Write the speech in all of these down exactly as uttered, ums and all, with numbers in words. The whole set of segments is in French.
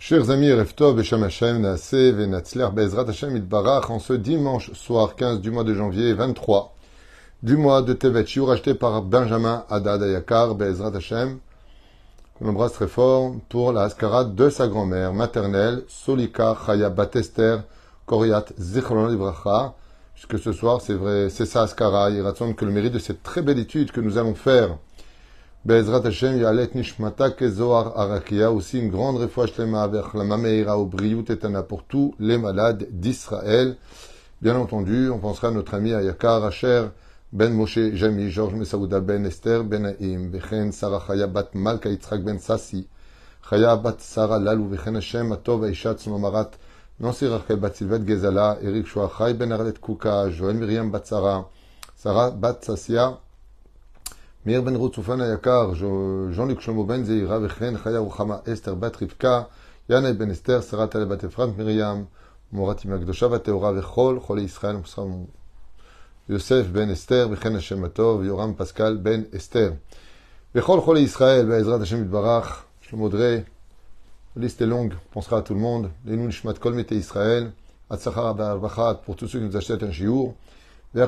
Chers amis, Erev Tov, Beshem Hashem, Naaseh, Venatzler, Be'ezrat Hashem, Itbarach, en ce dimanche soir quinze du mois de janvier, vingt-trois du mois de Tevet, Shiur acheté par Benjamin Haddad Ayakar, Be'ezrat Hashem, qu'on embrasse très fort, pour la Haskara de sa grand-mère maternelle, Solika Chaya Batester, Koriat Zichron Libracha, puisque ce soir, c'est vrai, c'est sa Haskara, il raconte que le mérite de cette très belle étude que nous allons faire, Be'ezrat Hashem, Yalet Nishmata Kezohar Arakia, aussi une grande refouach lema avec la Mameira au Briut Etana pour tous les malades d'Israël. Bien entendu, on pensera à notre ami Ayakar, Asher, Ben Moshe, Jami, Georges Mesaouda, Ben Esther, Ben Haïm, Bechen, Sarah Chaya Bat Malka Yitzhak Ben Sassi, Chaya Bat Sarah Lalou, Bechen Hashem, Atov Aishat Sonomarat, Nancy Rachel Bat Sylvette Gezala, Eric Chouachai, Ben Arlet Kouka, Joël Myriam Bat Sarah, Sarah Bat Sassia, Meir Ben Rotsufan Ayakar, Jean-Luc Shlomo Ben Zeira, Vechen, Chaya Ruchama, Esther Bat Rivka, Yana Ben Esther, Sarah Tale Bat Efrat Myriam, Morat Imagdosha Bat Teora, Vechol, Chole Israël, Yosef Ben Esther, Vechen Hashem Atov, Yoram Pascal Ben Esther. Vechol, Chole Israël, Be'ezrat Hashem Itbarach, Shlomo Drey, la liste est longue, on pensera à tout le monde, les nous Nishmat Kol Mete Israël, Atzachar Ba'arbachat, pour tous ceux qui nous achètent un shiur, nous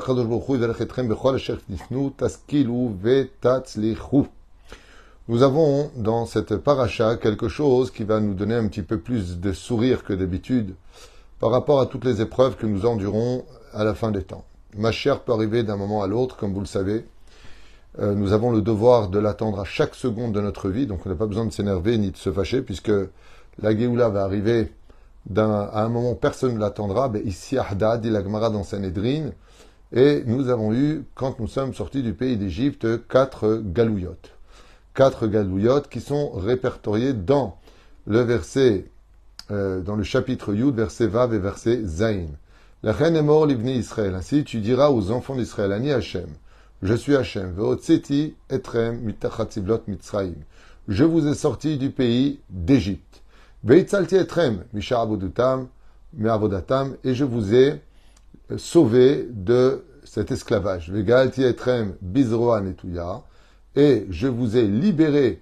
avons dans cette paracha quelque chose qui va nous donner un petit peu plus de sourire que d'habitude par rapport à toutes les épreuves que nous endurons à la fin des temps. Mashiach peut arriver d'un moment à l'autre, comme vous le savez. Euh, nous avons le devoir de l'attendre à chaque seconde de notre vie, donc on n'a pas besoin de s'énerver ni de se fâcher, puisque la Géoula va arriver d'un, à un moment où personne ne l'attendra. Ben, ici, Ahda, dit la Gemara dans Sanhedrin. Et nous avons eu, quand nous sommes sortis du pays d'Égypte, quatre galouillottes. Quatre galouillottes qui sont répertoriées dans le verset, euh, dans le chapitre Yud, verset Vav et verset Zain. La reine est mort, l'ivni Israël. Ainsi, tu diras aux enfants d'Israël, Ani Hashem, je suis Hashem, ve'otseti etrem mitachatzivlot mitzraim. Je vous ai sortis du pays d'Égypte. Ve'itzalti etrem misha avodatam, me'avodatam, et je vous ai sauvé de cet esclavage. Vegalti etrem bizroa netuya, et je vous ai libéré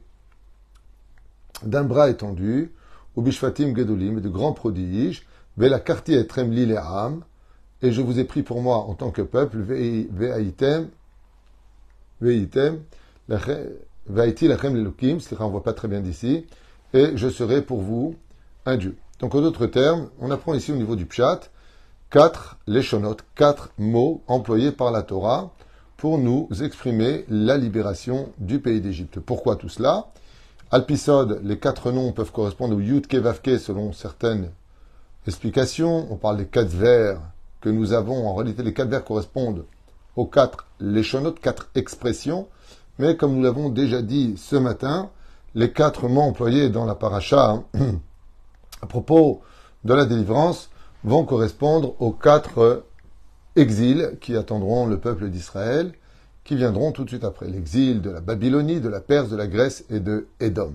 d'un bras étendu, ou bishfatim gedolim, de grands prodiges, velakarti etrem lileam, et je vous ai pris pour moi en tant que peuple, ve'aitem, ve'item, ve'aiti lachem lelukim, c'est-à-dire on voit pas très bien d'ici, et je serai pour vous un Dieu. Donc en d'autres termes, on apprend ici au niveau du pshat, quatre leshonot, quatre mots employés par la Torah pour nous exprimer la libération du pays d'Égypte. Pourquoi tout cela? Alpisod, les quatre noms peuvent correspondre au Yud Kevavke selon certaines explications. On parle des quatre vers que nous avons. En réalité, les quatre vers correspondent aux quatre leshonot, quatre expressions. Mais comme nous l'avons déjà dit ce matin, les quatre mots employés dans la paracha à propos de la délivrance vont correspondre aux quatre exils qui attendront le peuple d'Israël, qui viendront tout de suite après. L'exil de la Babylonie, de la Perse, de la Grèce et de Édom.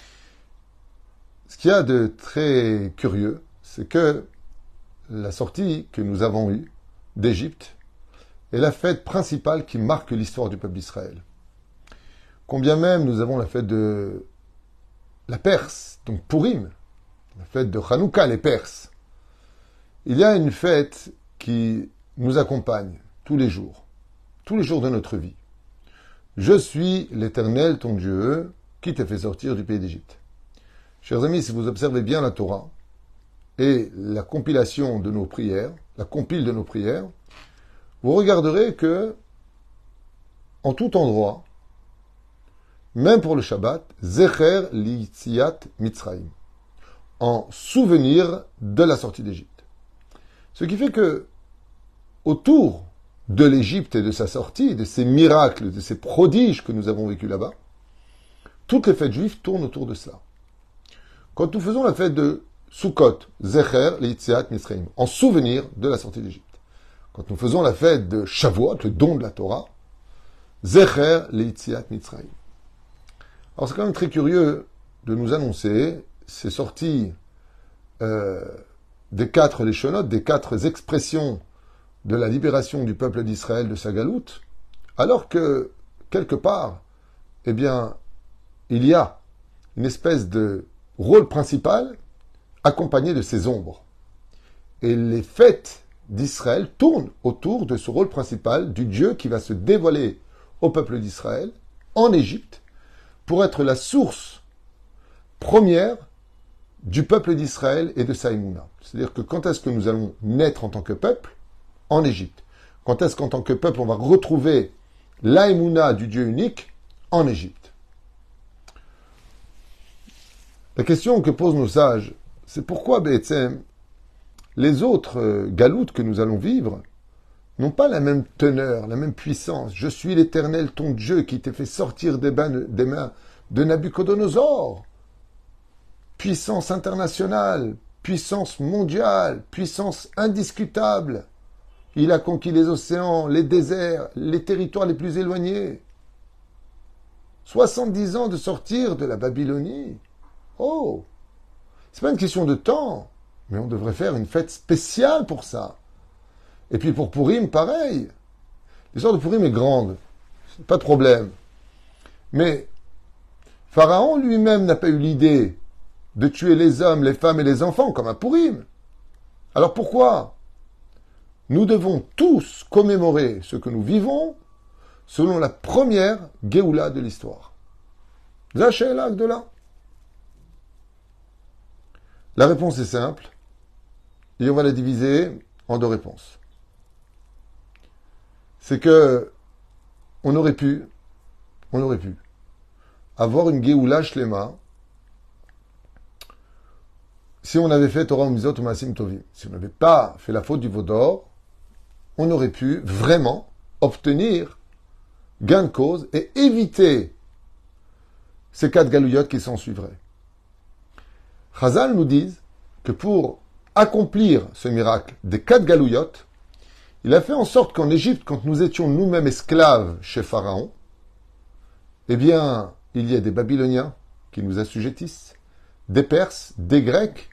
Ce qu'il y a de très curieux, c'est que la sortie que nous avons eue d'Égypte est la fête principale qui marque l'histoire du peuple d'Israël. Combien même nous avons la fête de la Perse, donc Purim, la fête de Hanouka, les Perses. Il y a une fête qui nous accompagne tous les jours, tous les jours de notre vie. Je suis l'Éternel, ton Dieu, qui t'a fait sortir du pays d'Égypte. Chers amis, si vous observez bien la Torah et la compilation de nos prières, la compile de nos prières, vous regarderez que, en tout endroit, même pour le Shabbat, Zecher li'yitziat Mitzrayim, en souvenir de la sortie d'Égypte. Ce qui fait que, autour de l'Égypte et de sa sortie, de ces miracles, de ces prodiges que nous avons vécus là-bas, toutes les fêtes juives tournent autour de cela. Quand nous faisons la fête de Sukkot, Zecher, Leitziat, Mitzrayim, en souvenir de la sortie d'Égypte. Quand nous faisons la fête de Shavuot, le don de la Torah, Zecher, Leitziat, Mitzrayim. Alors c'est quand même très curieux de nous annoncer ces sorties euh, des quatre leshonot, des quatre expressions de la libération du peuple d'Israël de sa galoute, alors que, quelque part, eh bien, il y a une espèce de rôle principal accompagné de ses ombres. Et les fêtes d'Israël tournent autour de ce rôle principal du Dieu qui va se dévoiler au peuple d'Israël en Égypte pour être la source première du peuple d'Israël et de sa Emouna. C'est-à-dire que quand est-ce que nous allons naître en tant que peuple? En Égypte. Quand est-ce qu'en tant que peuple on va retrouver la Emouna du Dieu unique? En Égypte. La question que posent nos sages, c'est pourquoi Be'etzem, les autres euh, galoutes que nous allons vivre n'ont pas la même teneur, la même puissance. Je suis l'Éternel, ton Dieu, qui t'ai fait sortir des, bains, des mains de Nabuchodonosor. Puissance internationale, puissance mondiale, puissance indiscutable. Il a conquis les océans, les déserts, les territoires les plus éloignés. soixante-dix ans de sortir de la Babylonie. Oh, c'est pas une question de temps, mais on devrait faire une fête spéciale pour ça. Et puis pour Purim, pareil. L'histoire de Purim est grande, c'est pas de problème. Mais Pharaon lui-même n'a pas eu l'idée de tuer les hommes, les femmes et les enfants comme à Purim. Alors pourquoi nous devons tous commémorer ce que nous vivons selon la première Géoula de l'histoire? Zachela Gdola. La réponse est simple, et on va la diviser en deux réponses. C'est que on aurait pu, on aurait pu avoir une Géoula Shlema si on avait fait Torah Umizot ou Maasim Tovim. Si on n'avait pas fait la faute du veau d'or, on aurait pu vraiment obtenir gain de cause et éviter ces quatre galouillottes qui s'en suivraient. Chazal nous dit que pour accomplir ce miracle des quatre galouillottes, il a fait en sorte qu'en Égypte, quand nous étions nous-mêmes esclaves chez Pharaon, eh bien, il y a des Babyloniens qui nous assujettissent, des Perses, des Grecs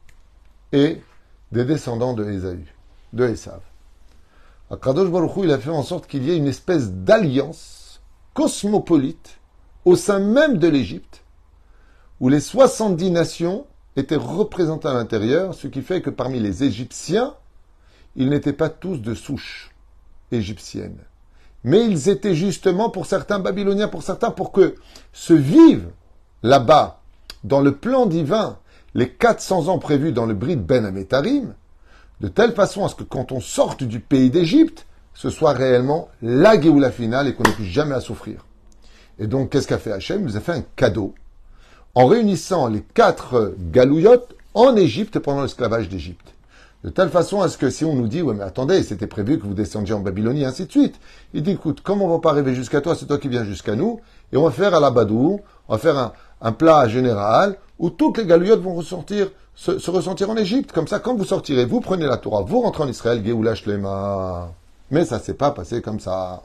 et des descendants de Ésaü, de Esav. Akadosh Baruch Hu, il a fait en sorte qu'il y ait une espèce d'alliance cosmopolite au sein même de l'Égypte, où les soixante-dix nations étaient représentées à l'intérieur, ce qui fait que parmi les Égyptiens, ils n'étaient pas tous de souche égyptienne. Mais ils étaient justement, pour certains Babyloniens, pour certains, pour que se vivent là-bas, dans le plan divin, les quatre cents ans prévus dans le Brit Ben Amétarim, de telle façon à ce que quand on sorte du pays d'Égypte, ce soit réellement la Géoula finale et qu'on n'ait plus jamais à souffrir. Et donc, qu'est-ce qu'a fait Hachem? Il nous a fait un cadeau en réunissant les quatre galouillottes en Égypte pendant l'esclavage d'Égypte. De telle façon à ce que si on nous dit, ouais mais attendez, c'était prévu que vous descendiez en Babylonie, et ainsi de suite. Il dit, écoute, comme on ne va pas arriver jusqu'à toi, c'est toi qui viens jusqu'à nous, et on va faire à la Badou, on va faire un, un plat général, où toutes les galouillottes vont ressortir, se, se ressentir en Égypte. Comme ça, quand vous sortirez, vous prenez la Torah, vous rentrez en Israël, Géoula Shlema. Mais ça ne s'est pas passé comme ça.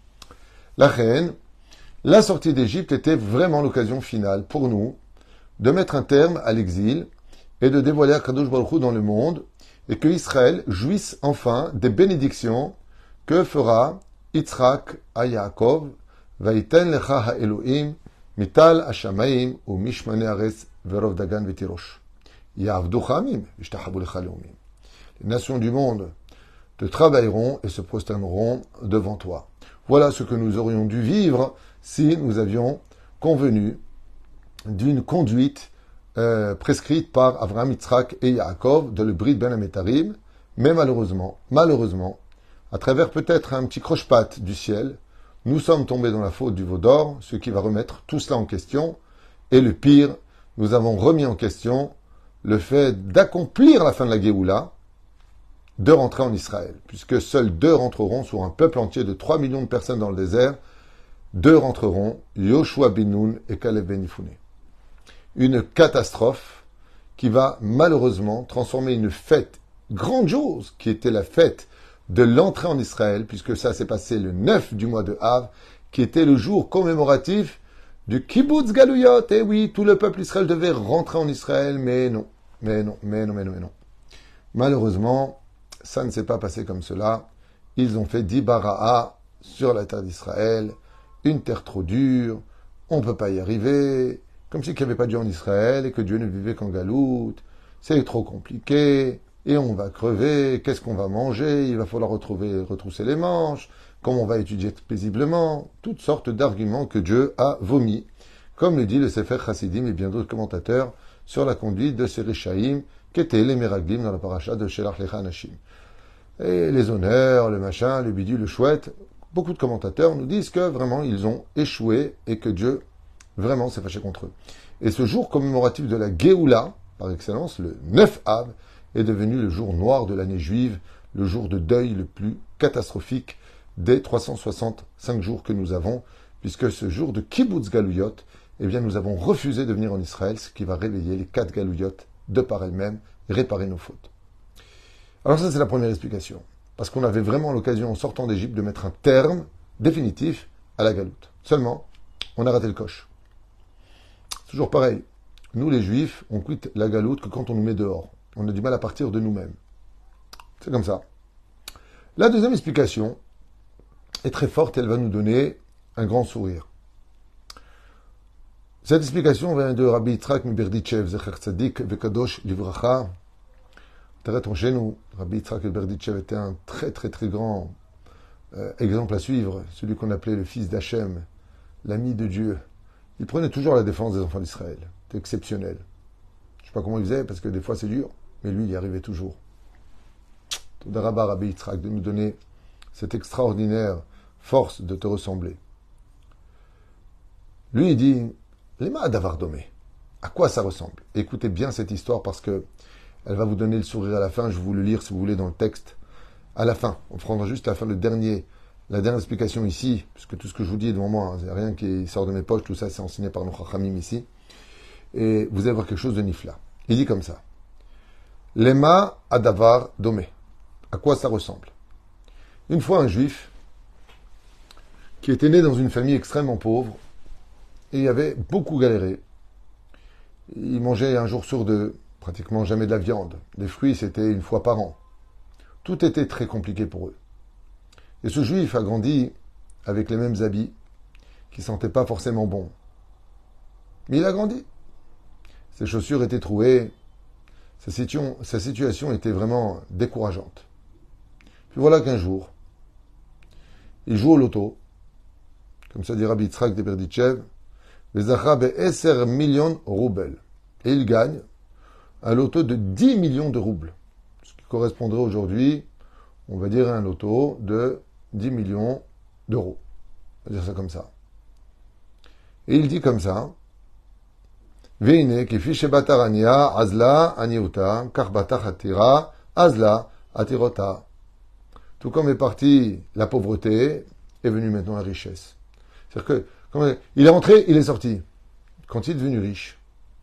La reine, la sortie d'Égypte était vraiment l'occasion finale pour nous de mettre un terme à l'exil et de dévoiler Akadosh Baruch Hu dans le monde, et que Israël jouisse enfin des bénédictions que fera Yitzhak à Yaakov, Vaïten lecha ha'elohim, mital ha'shamayim, ou mishmane aretz, verov dagan v'tirosh. Ya'avducha amim, v'ishtachabu lecha leumim. Les nations du monde te travailleront et se prosterneront devant toi. Voilà ce que nous aurions dû vivre si nous avions convenu d'une conduite Euh, prescrite par Avraham, Yitzhak et Yaakov de le Brit Ben Amétarim, mais malheureusement, malheureusement, à travers peut-être un petit croche-patte du ciel, nous sommes tombés dans la faute du veau d'or, ce qui va remettre tout cela en question, et le pire, nous avons remis en question le fait d'accomplir la fin de la Géoula, de rentrer en Israël, puisque seuls deux rentreront sur un peuple entier de trois millions de personnes dans le désert, deux rentreront, Yoshua bin Nun et Caleb ben Yifouné. Une catastrophe qui va malheureusement transformer une fête grandiose, qui était la fête de l'entrée en Israël, puisque ça s'est passé le neuf du mois de Av, qui était le jour commémoratif du Kibbutz Galouyot. Et oui, tout le peuple Israël devait rentrer en Israël, mais non, mais non, mais non, mais non, mais non. Malheureusement, ça ne s'est pas passé comme cela. Ils ont fait Dibara'a sur la terre d'Israël, une terre trop dure, on ne peut pas y arriver. Comme si qu'il n'y avait pas Dieu en Israël et que Dieu ne vivait qu'en galoute. c'est trop compliqué, et on va crever, qu'est-ce qu'on va manger, il va falloir retrouver, retrousser les manches, comment on va étudier paisiblement, toutes sortes d'arguments que Dieu a vomis, comme le dit le Sefer Chassidim et bien d'autres commentateurs sur la conduite de ces Réchaïm, qui étaient les Meraglim dans la paracha de Shelach Lecha Anashim. Et les honneurs, le machin, le bidule, le chouette, beaucoup de commentateurs nous disent que vraiment ils ont échoué et que Dieu vraiment s'est fâché contre eux. Et ce jour commémoratif de la Géoula, par excellence, le neuf Av, est devenu le jour noir de l'année juive, le jour de deuil le plus catastrophique des trois cent soixante-cinq jours que nous avons, puisque ce jour de Kibbutz Galouyot, eh bien nous avons refusé de venir en Israël, ce qui va réveiller les quatre Galouyot de par elles-mêmes et réparer nos fautes. Alors ça c'est la première explication, parce qu'on avait vraiment l'occasion en sortant d'Égypte de mettre un terme définitif à la galoute. Seulement, on a raté le coche. Toujours pareil, nous les Juifs, on quitte la galoute que quand on nous met dehors. On a du mal à partir de nous-mêmes. C'est comme ça. La deuxième explication est très forte et elle va nous donner un grand sourire. Cette explication vient de Rabbi Yitzhak Miberditchev, Zecher Tzadik Vekadosh Livracha. T'arrêtons chez nous. Rabbi Yitzhak Miberditchev était un très très très grand euh, exemple à suivre, celui qu'on appelait le fils d'Hachem, l'ami de Dieu. Il prenait toujours la défense des enfants d'Israël. C'était exceptionnel. Je ne sais pas comment il faisait, parce que des fois c'est dur, mais lui, il y arrivait toujours. Toda Rabba Rabbi Yitzhak de nous donner cette extraordinaire force de te ressembler. Lui, il dit, Lema Davar Domé. À quoi ça ressemble? Écoutez bien cette histoire parce que elle va vous donner le sourire à la fin. Je vais vous le lire si vous voulez dans le texte. À la fin, on prendra juste à la fin le dernier, la dernière explication ici, puisque tout ce que je vous dis est devant moi, il n'y a rien qui sort de mes poches, tout ça c'est enseigné par nos chachamim ici. Et vous allez voir quelque chose de nifla. Il dit comme ça. Lema Adavar Domé. À quoi ça ressemble? Une fois un juif qui était né dans une famille extrêmement pauvre et il avait beaucoup galéré. Il mangeait un jour sur deux, pratiquement jamais de la viande. Les fruits, c'était une fois par an. Tout était très compliqué pour eux. Et ce juif a grandi avec les mêmes habits qui ne sentaient pas forcément bon. Mais il a grandi. Ses chaussures étaient trouées. Sa situation, sa situation était vraiment décourageante. Puis voilà qu'un jour, il joue au loto, comme ça dit Rabbi Yitzhak de Berditchev, Bezacha be'eser millions roubles. Et il gagne un loto de dix millions de roubles. Ce qui correspondrait aujourd'hui, on va dire, à un loto de dix millions d'euros. On va dire ça comme ça. Et il dit comme ça, Veine kifi shebatarania azla aniuta karbata hatira azla atirota. Tout comme est parti la pauvreté, est venue maintenant la richesse. C'est-à-dire que, comme il est rentré, il est sorti. Quand il est devenu riche,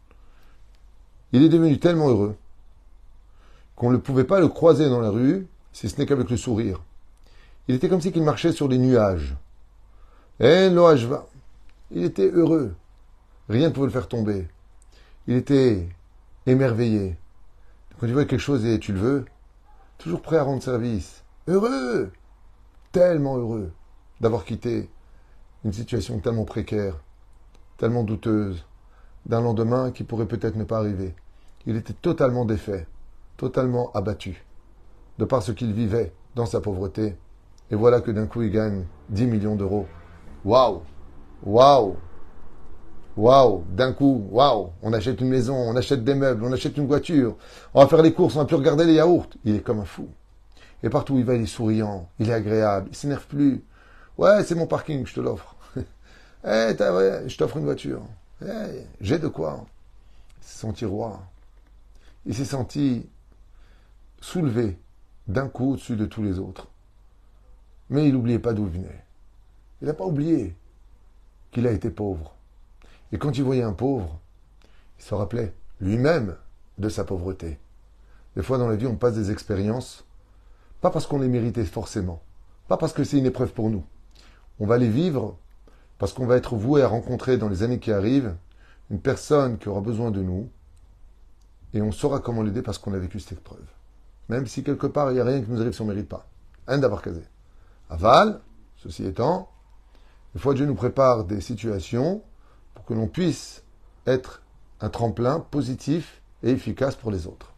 il est devenu tellement heureux qu'on ne pouvait pas le croiser dans la rue, si ce n'est qu'avec le sourire. Il était comme si il marchait sur les nuages. Eh, l'oajva. Il était heureux. Rien ne pouvait le faire tomber. Il était émerveillé. Quand tu vois quelque chose et tu le veux, toujours prêt à rendre service. Heureux, tellement heureux d'avoir quitté une situation tellement précaire, tellement douteuse, d'un lendemain qui pourrait peut-être ne pas arriver. Il était totalement défait, totalement abattu, de par ce qu'il vivait dans sa pauvreté. Et voilà que d'un coup, il gagne dix millions d'euros. Waouh! Waouh! Waouh! D'un coup, waouh! On achète une maison, on achète des meubles, on achète une voiture, on va faire les courses, on va plus regarder les yaourts. Il est comme un fou. Et partout où il va, il est souriant, il est agréable, il s'énerve plus. Ouais, c'est mon parking, je te l'offre. Eh, hey, ouais, je t'offre une voiture. Hey, j'ai de quoi. C'est son tiroir. Il s'est senti soulevé d'un coup au-dessus de tous les autres. Mais il n'oubliait pas d'où il venait. Il n'a pas oublié qu'il a été pauvre. Et quand il voyait un pauvre, il se rappelait lui-même de sa pauvreté. Des fois dans la vie, on passe des expériences, pas parce qu'on les méritait forcément, pas parce que c'est une épreuve pour nous. On va les vivre parce qu'on va être voué à rencontrer dans les années qui arrivent une personne qui aura besoin de nous et on saura comment l'aider parce qu'on a vécu cette épreuve. Même si quelque part, il n'y a rien qui nous arrive si on ne mérite pas. Un d'avoir casé. Aval, ceci étant, des fois Dieu nous prépare des situations pour que l'on puisse être un tremplin positif et efficace pour les autres.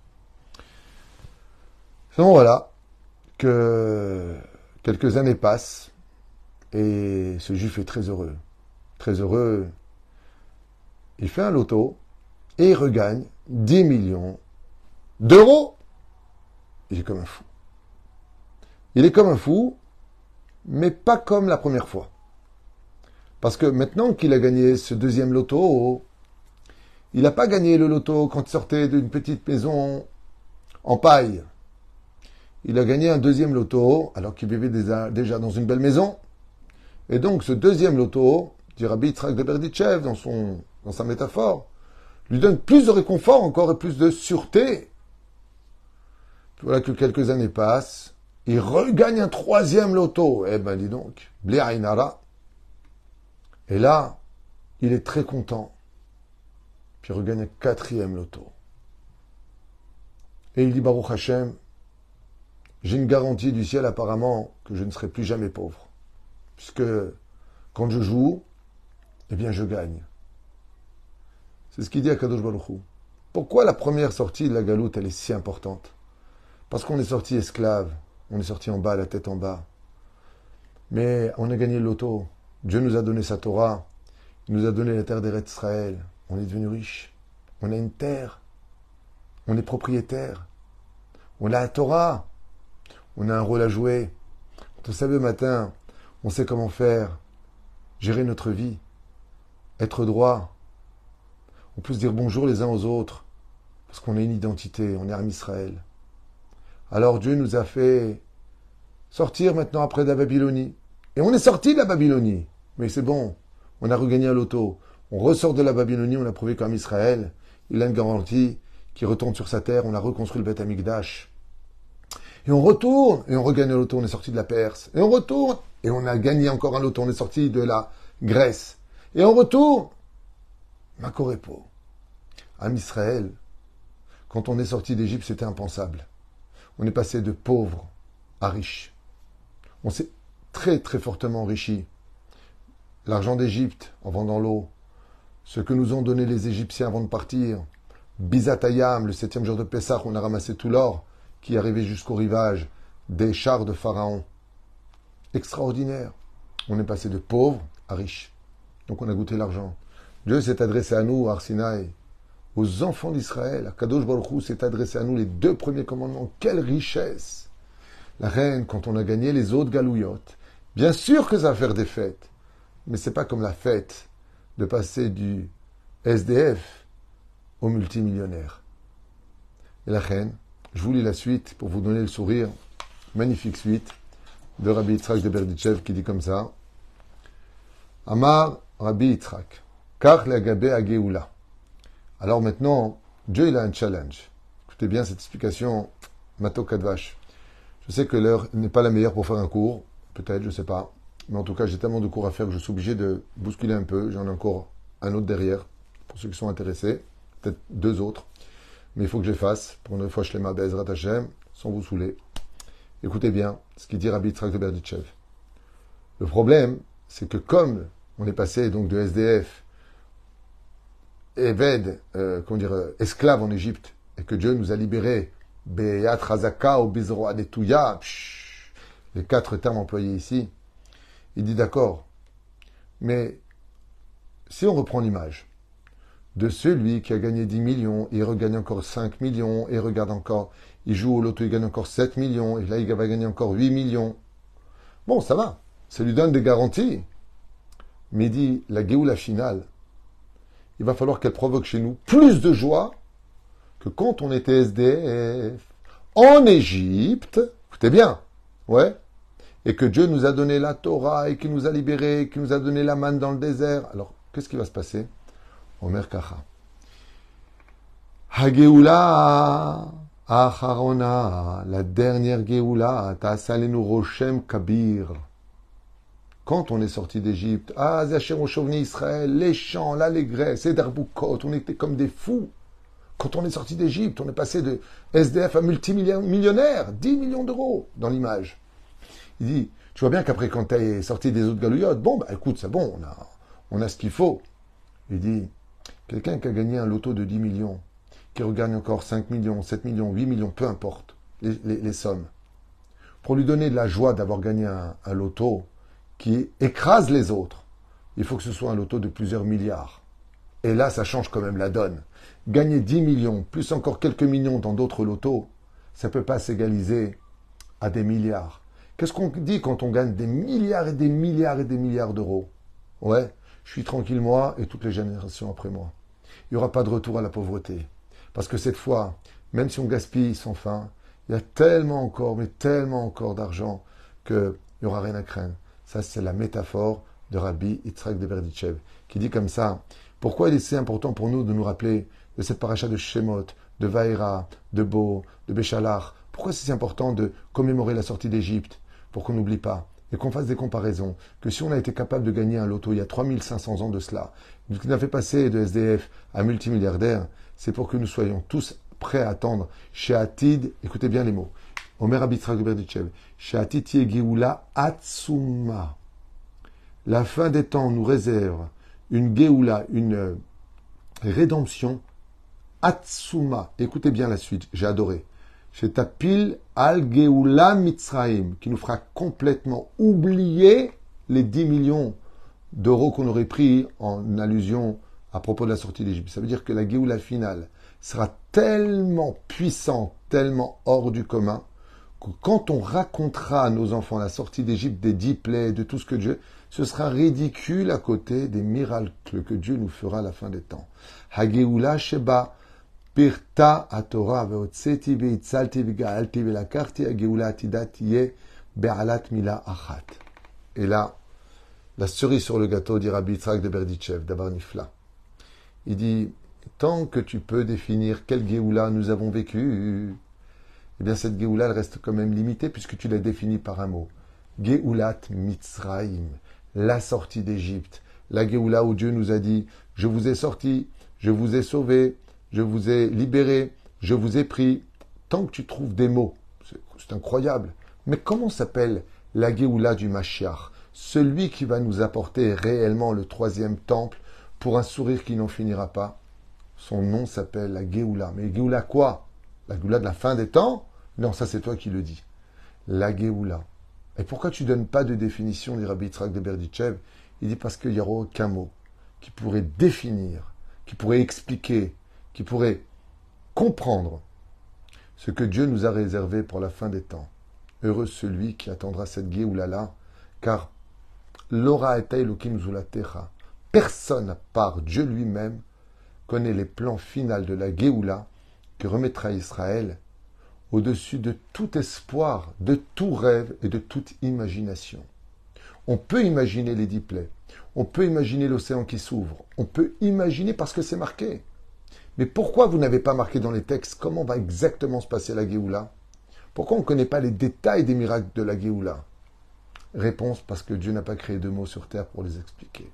Donc voilà, que quelques années passent, et ce juif est très heureux. Très heureux. Il fait un loto, et il regagne dix millions d'euros. Il est comme un fou. Il est comme un fou, mais pas comme la première fois. Parce que maintenant qu'il a gagné ce deuxième loto, il n'a pas gagné le loto quand il sortait d'une petite maison en paille. Il a gagné un deuxième loto, alors qu'il vivait déjà, déjà dans une belle maison. Et donc, ce deuxième loto, dit Rabbi Yitzhak de Berditchev dans, son, dans sa métaphore, lui donne plus de réconfort encore et plus de sûreté. Voilà que quelques années passent, il regagne un troisième loto. Eh ben, dis donc, Bli Ainara. Et là, il est très content. Puis il regagne un quatrième loto. Et il dit, Baruch Hashem, j'ai une garantie du ciel apparemment que je ne serai plus jamais pauvre. Puisque quand je joue, eh bien je gagne. C'est ce qu'il dit à Kadosh Baruch Hu. Pourquoi la première sortie de la galoute, elle est si importante? Parce qu'on est sorti esclave, on est sorti en bas, la tête en bas. Mais on a gagné le loto. Dieu nous a donné sa Torah, il nous a donné la terre d'Eretz Israël. On est devenu riche. On a une terre. On est propriétaire. On a la Torah. On a un rôle à jouer. Quand on se lève le matin, on sait comment faire, gérer notre vie, être droit. On peut se dire bonjour les uns aux autres, parce qu'on a une identité, on est Am Israël. Alors Dieu nous a fait sortir maintenant après de la Babylonie. Et on est sorti de la Babylonie. Mais c'est bon, on a regagné un loto. On ressort de la Babylonie, on a prouvé qu'Am Israël, il a une garantie qui retourne sur sa terre, on a reconstruit le Beth Amikdash. Et on retourne, et on regagne un loto, on est sorti de la Perse. Et on retourne, et on a gagné encore un loto, on est sorti de la Grèce. Et on retourne. Makorepo. Am Israël, quand on est sorti d'Égypte, c'était impensable. On est passé de pauvre à riche. On s'est très très fortement enrichi. L'argent d'Égypte, en vendant l'eau, ce que nous ont donné les Égyptiens avant de partir, Bizatayam, le septième jour de Pessah, on a ramassé tout l'or qui arrivait jusqu'au rivage des chars de Pharaon. Extraordinaire. On est passé de pauvre à riche. Donc on a goûté l'argent. Dieu s'est adressé à nous, à Arsinaï, aux enfants d'Israël. À Kadosh Baruch Hu s'est adressé à nous les deux premiers commandements. Quelle richesse! La reine, quand on a gagné les autres galouillottes, bien sûr que ça va faire des fêtes. Mais c'est pas comme la fête de passer du S D F au multimillionnaire. Et la reine, je vous lis la suite pour vous donner le sourire. Magnifique suite de Rabbi Yitzhak de Berditchev qui dit comme ça. Amar Rabbi Yitzhak, Kach le'agabe ha'geoula. Alors maintenant, Dieu il a un challenge. Écoutez bien cette explication, Mato Kadvash. Je sais que l'heure n'est pas la meilleure pour faire un cours, peut-être, je ne sais pas. Mais en tout cas, j'ai tellement de cours à faire que je suis obligé de bousculer un peu. J'en ai encore un autre derrière, pour ceux qui sont intéressés. Peut-être deux autres. Mais il faut que je les fasse pour une fois Shlema Be'ezrat Hashem, sans vous saouler. Écoutez bien ce qu'il dit Rabbi Yitzhak de Berditchev. Le problème, c'est que comme on est passé donc de S D F, Eved, euh, comment dire, euh, esclave en Égypte, et que Dieu nous a libérés, Beyat Razaka ou Bizro Adetouya, les quatre termes employés ici, il dit d'accord. Mais si on reprend l'image de celui qui a gagné dix millions, il regagne encore cinq millions, et regarde encore, il joue au loto, il gagne encore sept millions, et là il va gagner encore huit millions. Bon, ça va, ça lui donne des garanties. Mais il dit, la Géoula finale, il va falloir qu'elle provoque chez nous plus de joie que quand on était S D F en Égypte, écoutez bien, ouais, et que Dieu nous a donné la Torah, et qu'il nous a libérés, qu'il nous a donné la manne dans le désert. Alors, qu'est-ce qui va se passer? Omer Kacha. Ha-Géoula Acharona, la dernière Géoula, Ta'asalenu Roshem Kabir. Quand on est sorti d'Égypte, ah, Zachem Oshovni Israël, les chants, l'allégresse, et Darboukot, on était comme des fous. Quand on est sorti d'Égypte, on est passé de S D F à multimillionnaire, dix millions d'euros dans l'image. Il dit, tu vois bien qu'après, quand tu es sorti des autres galouillottes, bon, bah écoute, c'est bon, on a, on a ce qu'il faut. Il dit, quelqu'un qui a gagné un loto de dix millions, qui regagne encore cinq millions, sept millions, huit millions, peu importe les, les, les sommes, pour lui donner de la joie d'avoir gagné un, un loto qui écrase les autres, il faut que ce soit un loto de plusieurs milliards. Et là, ça change quand même la donne. Gagner dix millions, plus encore quelques millions dans d'autres lotos, ça ne peut pas s'égaliser à des milliards. Qu'est-ce qu'on dit quand on gagne des milliards et des milliards et des milliards d'euros? Ouais, je suis tranquille moi et toutes les générations après moi. Il n'y aura pas de retour à la pauvreté. Parce que cette fois, même si on gaspille sans fin, il y a tellement encore, mais tellement encore d'argent qu'il n'y aura rien à craindre. Ça, c'est la métaphore de Rabbi Yitzhak de Berditchev, qui dit comme ça, pourquoi il est si important pour nous de nous rappeler de cette paracha de Shemot, de Vaïra, de Bo, de Béchalach? Pourquoi c'est si important de commémorer la sortie d'Égypte? Pour qu'on n'oublie pas et qu'on fasse des comparaisons, que si on a été capable de gagner un loto il y a trois mille cinq cents ans de cela, qui n'a fait passer de S D F à multimilliardaire, c'est pour que nous soyons tous prêts à attendre chez Atid, écoutez bien les mots, Omer Rabbi Yitzhak Berditchev, chez Atid Geoula Atsuma. La fin des temps nous réserve une Geoula, une rédemption Atsuma. Écoutez bien la suite, j'ai adoré. Chez Tapil al Geoula Mitzraim, qui nous fera complètement oublier les dix millions d'euros qu'on aurait pris en allusion à propos de la sortie d'Égypte. Ça veut dire que la Geoula finale sera tellement puissante, tellement hors du commun, que quand on racontera à nos enfants la sortie d'Égypte, des dix plaies, de tout ce que Dieu, ce sera ridicule à côté des miracles que Dieu nous fera à la fin des temps. Hageoula Sheba Pirta Atorah veotseti veitzalti vegaalti velakarti hageoula atidat tiye be'alat mila achat. Et là, la cerise sur le gâteau, dit Rabbi Yitzhak de Berditchev, d'Abar Nifla. Il dit, tant que tu peux définir quelle Géoula nous avons vécu, eh bien cette Géoula, elle reste quand même limitée puisque tu l'as définie par un mot. Géoulat Mitzraïm, la sortie d'Égypte. La Géoula où Dieu nous a dit, je vous ai sorti, je vous ai sauvé, je vous ai libéré, je vous ai pris. Tant que tu trouves des mots, c'est, c'est incroyable. Mais comment s'appelle la Géoula du Mashiach? Celui qui va nous apporter réellement le troisième temple pour un sourire qui n'en finira pas. Son nom s'appelle la Géoula. Mais Géoula quoi? La Géoula de la fin des temps? Non, ça c'est toi qui le dis. La Géoula. Et pourquoi tu ne donnes pas de définition, dit Rabbi Yitzhak de Berditchev? Il dit parce qu'il n'y aura aucun mot qui pourrait définir, qui pourrait expliquer, qui pourrait comprendre ce que Dieu nous a réservé pour la fin des temps. Heureux celui qui attendra cette Géoula-là, car L'ora et Elohim zulatecha. Personne, à part Dieu lui-même, connaît les plans finaux de la Géoula que remettra Israël au-dessus de tout espoir, de tout rêve et de toute imagination. On peut imaginer les dix plaies, on peut imaginer l'océan qui s'ouvre, on peut imaginer parce que c'est marqué. Mais pourquoi vous n'avez pas marqué dans les textes comment va exactement se passer la Géoula? Pourquoi on ne connaît pas les détails des miracles de la Géoula? Réponse, parce que Dieu n'a pas créé de mots sur terre pour les expliquer.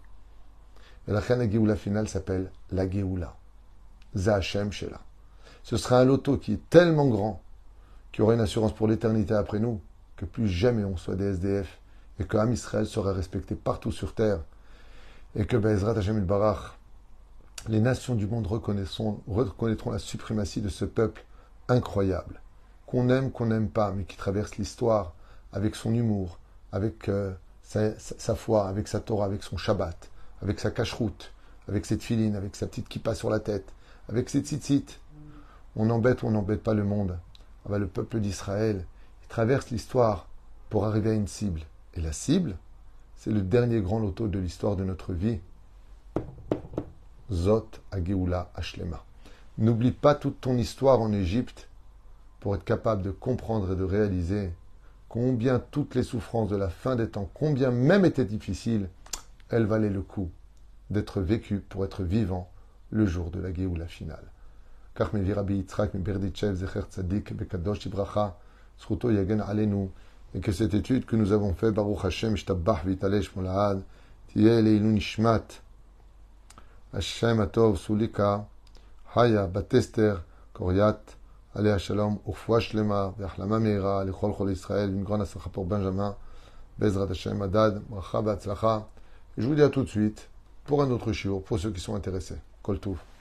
Et la Géoula finale s'appelle la Géoula. Zahachem Shela. Ce sera un loto qui est tellement grand qu'il y aura une assurance pour l'éternité après nous, que plus jamais on soit des S D F, et que Am Israël sera respecté partout sur terre, et que Be'ezrat Hashem Barach, les nations du monde reconnaîtront, reconnaîtront la suprématie de ce peuple incroyable, qu'on aime, qu'on n'aime pas, mais qui traverse l'histoire avec son humour, avec euh, sa, sa, sa foi, avec sa Torah, avec son Shabbat, avec sa cacheroute, avec cette filine, avec sa petite kippa sur la tête, avec ses tzitzit. On embête ou on n'embête pas le monde. Ah ben, le peuple d'Israël, il traverse l'histoire pour arriver à une cible. Et la cible, c'est le dernier grand loto de l'histoire de notre vie. Zot Hageoula Ashlema. N'oublie pas toute ton histoire en Égypte pour être capable de comprendre et de réaliser combien toutes les souffrances de la fin des temps, combien même étaient difficiles, elles valaient le coup d'être vécues pour être vivant le jour de la Géoula finale. Car me Rabbi Yitzhak me Berditchev Zecher Tzadik Bekadosh Ibracha Zchuto Yagen Alenu, et que cette étude que nous avons fait Baruch Hashem Shtabach Vitalesh Molaad Tiye Leilu Nishmat Hashem Atov Sulika Haya Batester Koriat Alea Shalom Ufwa Shlema Ve'achlama Meira Lechol Chol Israël, une grande aslacha pour Benjamin Bezrat Hashem Adad Bracha Be'atzlacha. Je vous dis à tout de suite pour un autre shiur pour ceux qui sont intéressés. Kol Tuv.